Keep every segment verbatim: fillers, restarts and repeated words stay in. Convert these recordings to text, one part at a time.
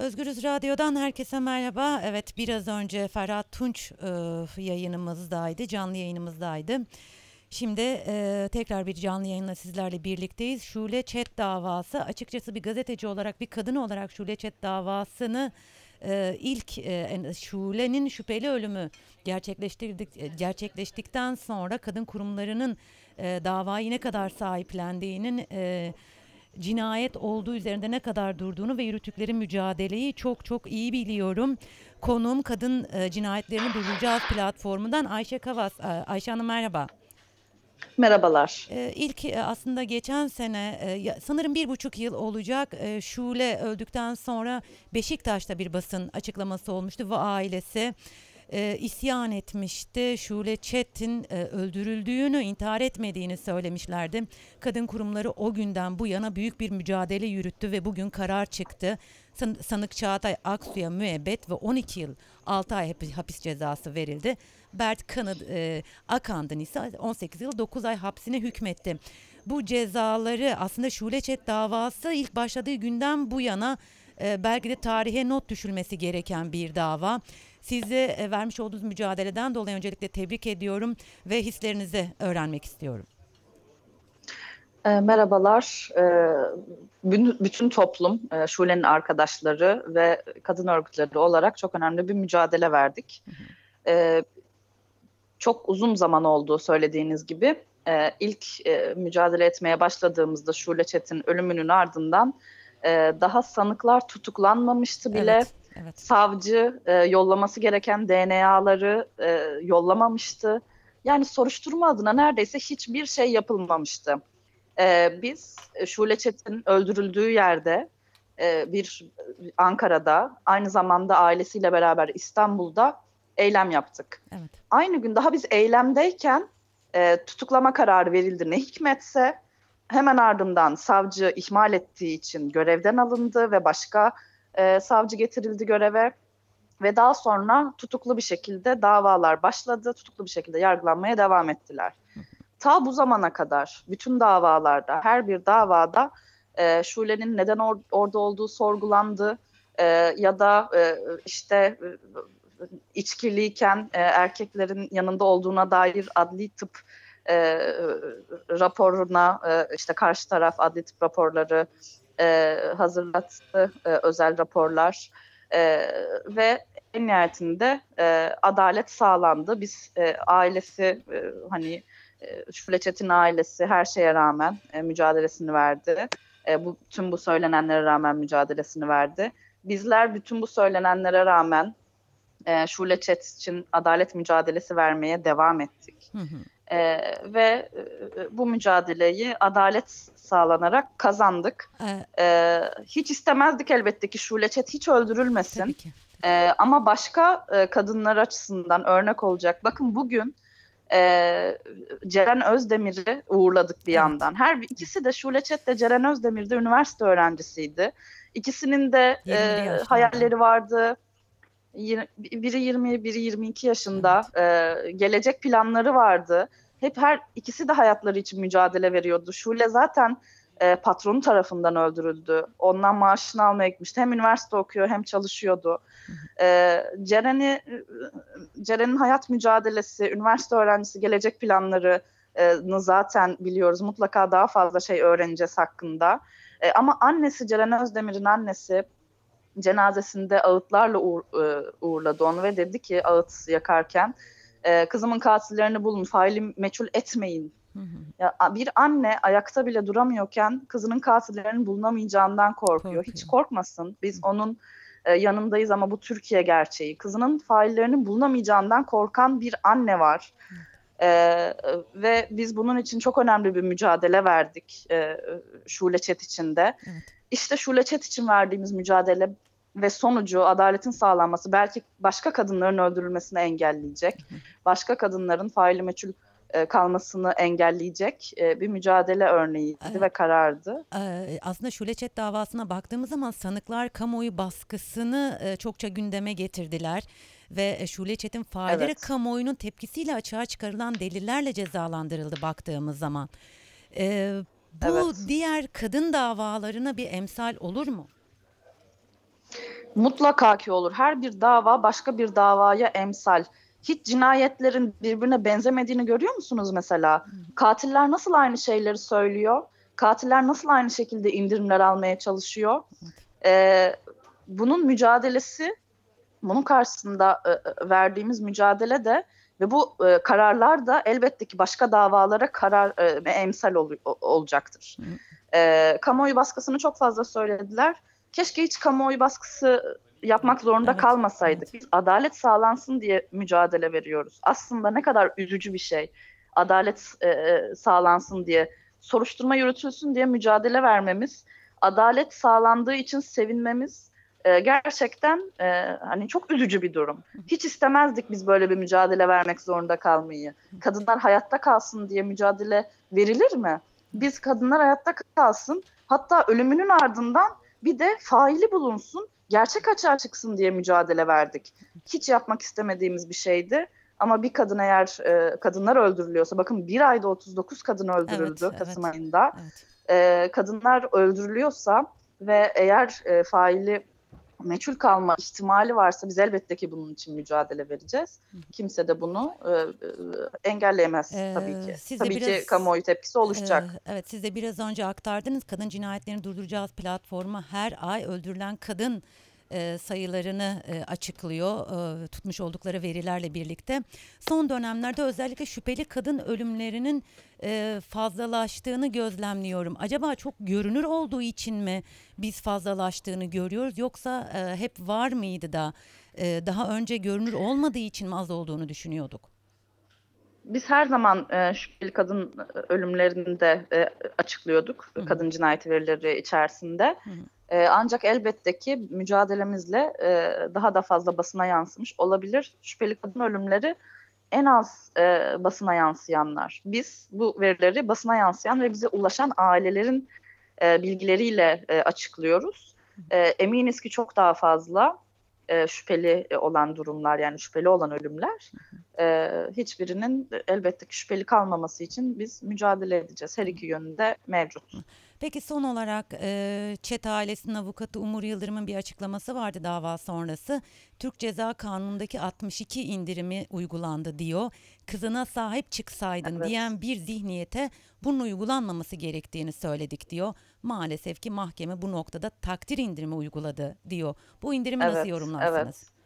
Özgürüz Radyo'dan herkese merhaba. Evet, biraz önce Ferhat Tunç e, yayınımızdaydı, canlı yayınımızdaydı. Şimdi e, tekrar bir canlı yayınla sizlerle birlikteyiz. Şule Çet davası, açıkçası bir gazeteci olarak, bir kadın olarak Şule Çet davasını e, ilk e, Şule'nin şüpheli ölümü gerçekleştirdik, e, gerçekleştikten sonra kadın kurumlarının e, davayı ne kadar sahiplendiğinin e, cinayet olduğu üzerinde ne kadar durduğunu ve yürüttükleri mücadeleyi çok çok iyi biliyorum. Konuğum Kadın e, Cinayetlerini Durduracağız platformundan Ayşe Kavas. E, Ayşe Hanım merhaba. Merhabalar. E, ilk e, aslında geçen sene e, ya- sanırım bir buçuk yıl olacak, e, Şule öldükten sonra Beşiktaş'ta bir basın açıklaması olmuştu ve ailesi e, isyan etmişti. Şule Çet'in e, öldürüldüğünü, intihar etmediğini söylemişlerdi. Kadın kurumları o günden bu yana büyük bir mücadele yürüttü ve bugün karar çıktı. San- Sanık Çağatay Aksu'ya müebbet ve on iki yıl altı ay hapis, hapis cezası verildi. Bert Kanı, e, Akand'ın ise on sekiz yıl dokuz ay hapsine hükmetti. Bu cezaları aslında Şule Çet davası ilk başladığı günden bu yana e, belki de tarihe not düşülmesi gereken bir dava. Sizi e, vermiş olduğunuz mücadeleden dolayı öncelikle tebrik ediyorum ve hislerinizi öğrenmek istiyorum. E, merhabalar. E, bün- bütün toplum, e, Şule'nin arkadaşları ve kadın örgütleri olarak çok önemli bir mücadele verdik. E, Çok uzun zaman oldu söylediğiniz gibi. E, ilk e, mücadele etmeye başladığımızda Şule Çet'in ölümünün ardından e, daha sanıklar tutuklanmamıştı bile. Evet, evet. Savcı e, yollaması gereken D N A'ları e, yollamamıştı. Yani soruşturma adına neredeyse hiçbir şey yapılmamıştı. Ee, biz e, Şule Çetin öldürüldüğü yerde e, bir Ankara'da aynı zamanda ailesiyle beraber İstanbul'da eylem yaptık. Evet. Aynı gün daha biz eylemdeyken e, tutuklama kararı verildi ne hikmetse hemen ardından savcı ihmal ettiği için görevden alındı ve başka e, savcı getirildi göreve ve daha sonra tutuklu bir şekilde davalar başladı, tutuklu bir şekilde yargılanmaya devam ettiler. Ta bu zamana kadar bütün davalarda, her bir davada e, Şule'nin neden or- orada olduğu sorgulandı. E, ya da e, işte e, içkiliyken e, erkeklerin yanında olduğuna dair adli tıp e, raporuna e, işte karşı taraf adli tıp raporları e, hazırlattı, e, özel raporlar e, ve en nihayetinde e, adalet sağlandı. Biz e, ailesi e, hani e, Şule Çetin ailesi her şeye rağmen e, mücadelesini verdi. E, bu tüm bu söylenenlere rağmen mücadelesini verdi. Bizler bütün bu söylenenlere rağmen e, Şule Çet için adalet mücadelesi vermeye devam ettik. Hı hı. E, ve e, bu mücadeleyi adalet sağlanarak kazandık. Ee, E, hiç istemezdik elbette ki Şule Çet hiç tabii öldürülmesin. ki. E, ama başka e, kadınlar açısından örnek olacak. Bakın bugün e, Ceren Özdemir'i uğurladık bir Evet. yandan. Her ikisi de Şule Çet de Ceren Özdemir de üniversite öğrencisiydi. İkisinin de yirmili e, yaşlarda. hayalleri vardı. Yir- Biri yirmi, biri yirmi iki yaşında. Evet. E, gelecek planları vardı. Hep her ikisi de hayatları için mücadele veriyordu. Şule zaten e, patronu tarafından öldürüldü. Ondan maaşını almaya gitmişti. Hem üniversite okuyor hem çalışıyordu. Hı hı. E, Ceren'i Ceren'in hayat mücadelesi, üniversite öğrencisi gelecek planlarını zaten biliyoruz. Mutlaka daha fazla şey öğreneceğiz hakkında. E, ama annesi Ceren Özdemir'in annesi cenazesinde ağıtlarla uğur, e, uğurladı onu ve dedi ki ağıt yakarken e, kızımın katillerini bulun, faili meçhul etmeyin. Hı hı. Ya, bir anne ayakta bile duramıyorken kızının katillerinin bulunamayacağından korkuyor. Hiç Korkuyor. korkmasın. Hı Biz onun e, yanındayız ama bu Türkiye gerçeği. Kızının faillerinin bulunamayacağından korkan bir anne var. hı. Evet. E, ve biz bunun için çok önemli bir mücadele verdik e, Şule Çet için de. Evet. İşte Şule Çet için verdiğimiz mücadele ve sonucu adaletin sağlanması belki başka kadınların öldürülmesini engelleyecek. Başka kadınların faili meçhul e, kalmasını engelleyecek e, bir mücadele örneğiydi Ee, ve karardı. e, aslında Şule Çet davasına baktığımız zaman sanıklar kamuoyu baskısını e, çokça gündeme getirdiler ve e, Şule Çet'in failleri Evet, kamuoyunun tepkisiyle açığa çıkarılan delillerle cezalandırıldı baktığımız zaman. Ee, Bu evet. diğer kadın davalarına bir emsal olur mu? Mutlaka ki olur. Her bir dava başka bir davaya emsal. Hiç cinayetlerin birbirine benzemediğini görüyor musunuz mesela? Katiller nasıl aynı şeyleri söylüyor? Katiller nasıl aynı şekilde indirimler almaya çalışıyor? Ee, bunun mücadelesi, bunun karşısında e, e, verdiğimiz mücadele de ve bu e, kararlar da elbette ki başka davalara karar e, ve emsal ol, olacaktır. E, kamuoyu baskısını çok fazla söylediler. Keşke hiç kamuoyu baskısı yapmak zorunda Evet, kalmasaydık. evet. Biz adalet sağlansın diye mücadele veriyoruz. Aslında ne kadar üzücü bir şey. Adalet e, sağlansın diye, soruşturma yürütülsün diye mücadele vermemiz, adalet sağlandığı için sevinmemiz e, gerçekten e, hani çok üzücü bir durum. Hiç istemezdik biz böyle bir mücadele vermek zorunda kalmayı. Kadınlar hayatta kalsın diye mücadele verilir mi? Biz kadınlar hayatta kalsın, hatta ölümünün ardından bir de faili bulunsun, gerçek açığa çıksın diye mücadele verdik. Hiç yapmak istemediğimiz bir şeydi. Ama bir kadın eğer e, kadınlar öldürülüyorsa, bakın bir ayda otuz dokuz kadın Evet, öldürüldü Kasım evet, ayında. evet. E, kadınlar öldürülüyorsa ve eğer e, faili meçhul kalma ihtimali varsa biz elbette ki bunun için mücadele vereceğiz. Kimse de bunu e, e, engelleyemez tabii Ee, ki. siz de Tabii ki biraz kamuoyu tepkisi e, oluşacak. evet siz de biraz önce aktardınız. Kadın Cinayetlerini Durduracağız platformu her ay öldürülen kadın e, sayılarını e, açıklıyor. E, tutmuş oldukları verilerle birlikte. Son dönemlerde özellikle şüpheli kadın ölümlerinin e, fazlalaştığını gözlemliyorum. Acaba çok görünür olduğu için mi biz fazlalaştığını görüyoruz, yoksa e, hep var mıydı da e, daha önce görünür olmadığı için mi az olduğunu düşünüyorduk? Biz her zaman e, şüpheli kadın ölümlerini de e, açıklıyorduk. Hı hı, Kadın cinayeti verileri içerisinde. hı hı, E, ancak elbette ki mücadelemizle e, daha da fazla basına yansımış olabilir. Şüpheli kadın ölümleri en az e, basına yansıyanlar. Biz bu verileri basına yansıyan ve bize ulaşan ailelerin e, bilgileriyle e, açıklıyoruz. E, eminiz ki çok daha fazla e, şüpheli olan durumlar, yani şüpheli olan ölümler. E, hiçbirinin elbette ki şüpheli kalmaması için biz mücadele edeceğiz. Her iki yönünde mevcut. Peki son olarak e, Çet ailesinin avukatı Umur Yıldırım'ın bir açıklaması vardı dava sonrası. Türk Ceza Kanunu'ndaki altmış iki indirimi uygulandı diyor. Kızına sahip çıksaydın Evet, diyen bir zihniyete bunun uygulanmaması gerektiğini söyledik diyor. Maalesef ki mahkeme bu noktada takdir indirimi uyguladı diyor. Bu indirimi nasıl evet, yorumlarsınız? evet.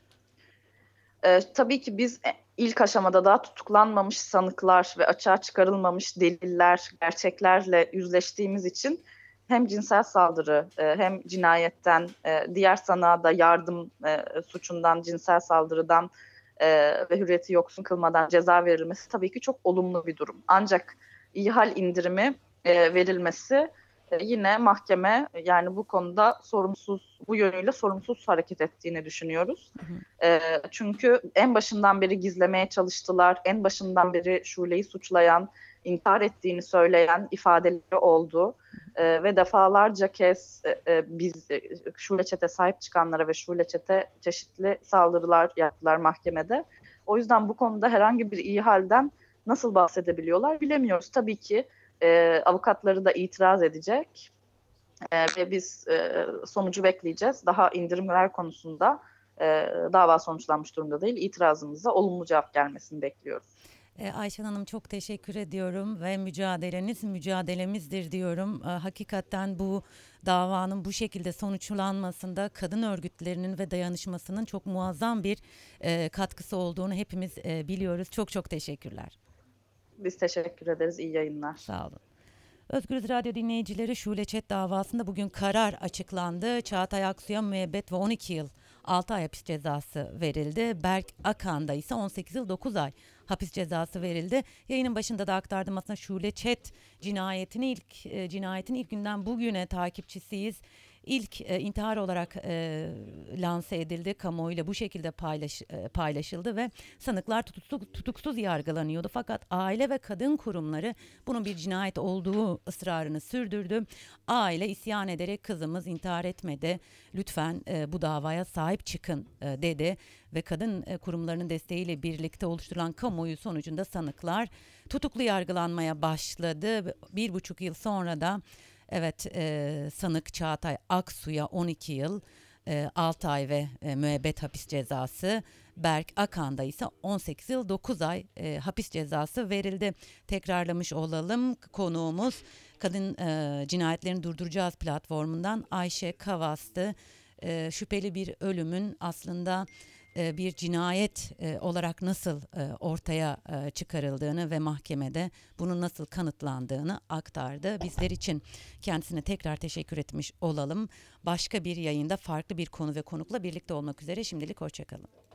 E, tabii ki biz ilk aşamada daha tutuklanmamış sanıklar ve açığa çıkarılmamış deliller, gerçeklerle yüzleştiğimiz için hem cinsel saldırı e, hem cinayetten, e, diğer sanığa da yardım e, suçundan, cinsel saldırıdan e, ve hürriyeti yoksun kılmadan ceza verilmesi tabii ki çok olumlu bir durum. Ancak ihal indirimi e, verilmesi e, yine mahkeme yani bu konuda sorumsuz, bu yönüyle sorumsuz hareket ettiğini düşünüyoruz. E, çünkü en başından beri gizlemeye çalıştılar. En başından beri Şule'yi suçlayan, intihar ettiğini söyleyen ifadeleri oldu. E, ve defalarca kez e, e, biz e, Şule Çete sahip çıkanlara ve Şule Çete çeşitli saldırılar yaptılar mahkemede. O yüzden bu konuda herhangi bir iyi halden nasıl bahsedebiliyorlar bilemiyoruz. Tabii ki e, avukatları da itiraz edecek e, ve biz e, sonucu bekleyeceğiz. Daha indirimler konusunda e, dava sonuçlanmış durumda değil. İtirazımıza olumlu cevap gelmesini bekliyoruz. E, Ayşen Hanım, çok teşekkür ediyorum ve mücadeleniz mücadelemizdir diyorum. E, hakikaten bu davanın bu şekilde sonuçlanmasında kadın örgütlerinin ve dayanışmasının çok muazzam bir e, katkısı olduğunu hepimiz e, biliyoruz. Çok çok teşekkürler. Biz teşekkür ederiz. İyi yayınlar. Sağ olun. Özgürüz Radyo dinleyicileri, Şule Çet davasında bugün karar açıklandı. Çağatay Aksu'ya müebbet ve on iki yıl altı ay hapis cezası verildi. Berk Akan'da ise on sekiz yıl dokuz ay hapis cezası verildi. Yayının başında da aktardım, aslında Şule Çet cinayetini ilk e, cinayetin ilk günden bugüne takipçisiyiz. İlk e, intihar olarak e, lanse edildi, kamuoyuyla bu şekilde paylaş, e, paylaşıldı ve sanıklar tutuksuz, tutuksuz yargılanıyordu. Fakat aile ve kadın kurumları bunun bir cinayet olduğu ısrarını sürdürdü. Aile isyan ederek kızımız intihar etmedi, lütfen e, bu davaya sahip çıkın e, dedi ve kadın e, kurumlarının desteğiyle birlikte oluşturulan kamuoyu sonucunda sanıklar tutuklu yargılanmaya başladı. Bir buçuk yıl sonra da evet, e, sanık Çağatay Aksu'ya on iki yıl, altı ay ve e, müebbet hapis cezası. Berk Akan'da ise on sekiz yıl dokuz ay e, hapis cezası verildi. Tekrarlamış olalım, konuğumuz Kadın e, Cinayetlerini Durduracağız platformundan Ayşe Kavas'tı. E, şüpheli bir ölümün aslında e, bir cinayet e, olarak nasıl e, ortaya e, çıkarıldığını ve mahkemede bunun nasıl kanıtlandığını aktardı. Bizler için kendisine tekrar teşekkür etmiş olalım. Başka bir yayında farklı bir konu ve konukla birlikte olmak üzere, şimdilik hoşça kalın.